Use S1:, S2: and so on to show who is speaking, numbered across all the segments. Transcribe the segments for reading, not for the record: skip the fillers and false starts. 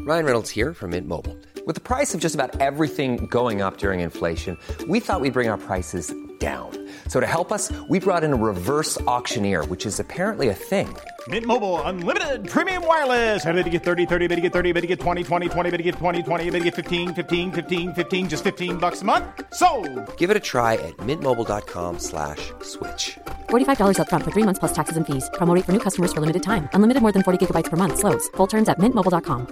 S1: Ryan Reynolds here from Mint Mobile. With the price of just about everything going up during inflation, we thought we'd bring our prices down. So to help us, we brought in a reverse auctioneer, which is apparently a thing.
S2: Mint Mobile Unlimited Premium Wireless. How to get 30, 30, bit to get 30, bit to get 20, 20, 20, bit to get 20, 20, bit to get 15, 15, 15, 15, just $15 a month? Sold!
S1: Give it a try at mintmobile.com/switch.
S3: $45 up front for 3 months plus taxes and fees. Promo rate for new customers for limited time. Unlimited more than 40 gigabytes per month. Slows full terms at mintmobile.com.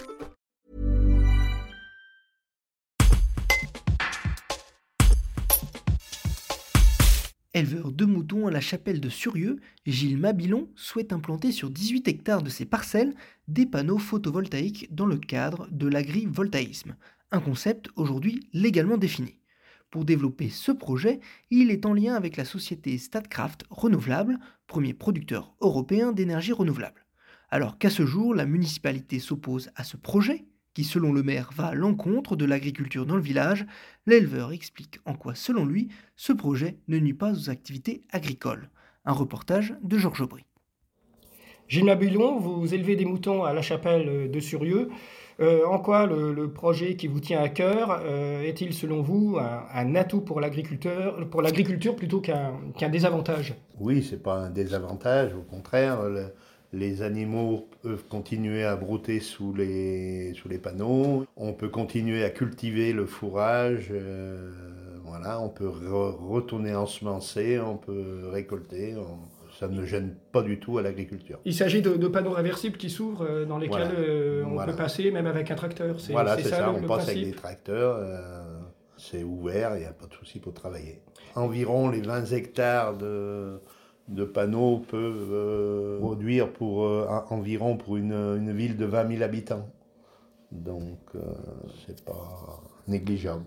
S4: Éleveur de moutons à la chapelle de Surieux, Gilles Mabilon souhaite implanter sur 18 hectares de ses parcelles des panneaux photovoltaïques dans le cadre de l'agrivoltaïsme, un concept aujourd'hui légalement défini. Pour développer ce projet, il est en lien avec la société Statkraft Renouvelable, premier producteur européen d'énergie renouvelable. Alors qu'à ce jour, la municipalité s'oppose à ce projet, qui selon le maire va à l'encontre de l'agriculture dans le village, l'éleveur explique en quoi, selon lui, ce projet ne nuit pas aux activités agricoles. Un reportage de Georges Aubry.
S5: Gilles Mabilon, vous élevez des moutons à la chapelle de Surieux. En quoi le projet qui vous tient à cœur est-il, selon vous, un atout pour l'agriculture plutôt qu'un désavantage ?
S6: Oui, ce n'est pas un désavantage, au contraire. Les animaux peuvent continuer à brouter sous les panneaux. On peut continuer à cultiver le fourrage. On peut retourner ensemencer, on peut récolter. Ça ne gêne pas du tout à l'agriculture.
S5: Il s'agit de panneaux réversibles qui s'ouvrent dans lesquels on peut passer même avec un tracteur.
S6: C'est ça, on passe avec des tracteurs. C'est ouvert, il n'y a pas de souci pour travailler. Environ les 20 hectares de panneaux peuvent produire environ pour une ville de 20 000 habitants. Donc, c'est pas négligeable.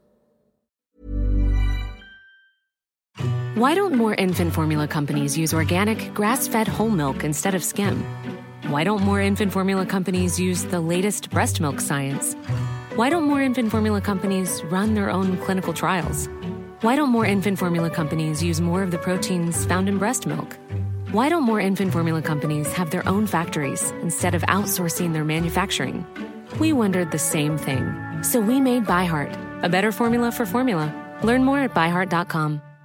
S7: Why don't more infant formula companies use organic, grass-fed whole milk instead of skim? Why don't more infant formula companies use the latest breast milk science? Why don't more infant formula companies run their own clinical trials? Why don't more infant formula companies use more of the proteins found in breast milk? Why don't more infant formula companies have their own factories instead of outsourcing their manufacturing? We wondered the same thing. So we made ByHeart, a better formula for formula. Learn more at byheart.com.